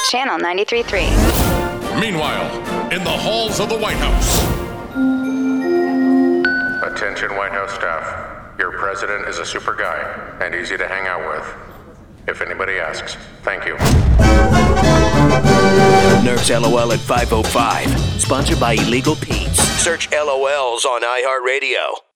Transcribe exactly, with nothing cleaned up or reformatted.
Channel ninety-three point three. Meanwhile, in the halls of the White House. Attention White House staff. Your president is a super guy and easy to hang out with. If anybody asks, thank you. Nerf's LOL at five oh five. Sponsored by Illegal Pete's. Search L O Ls on iHeartRadio.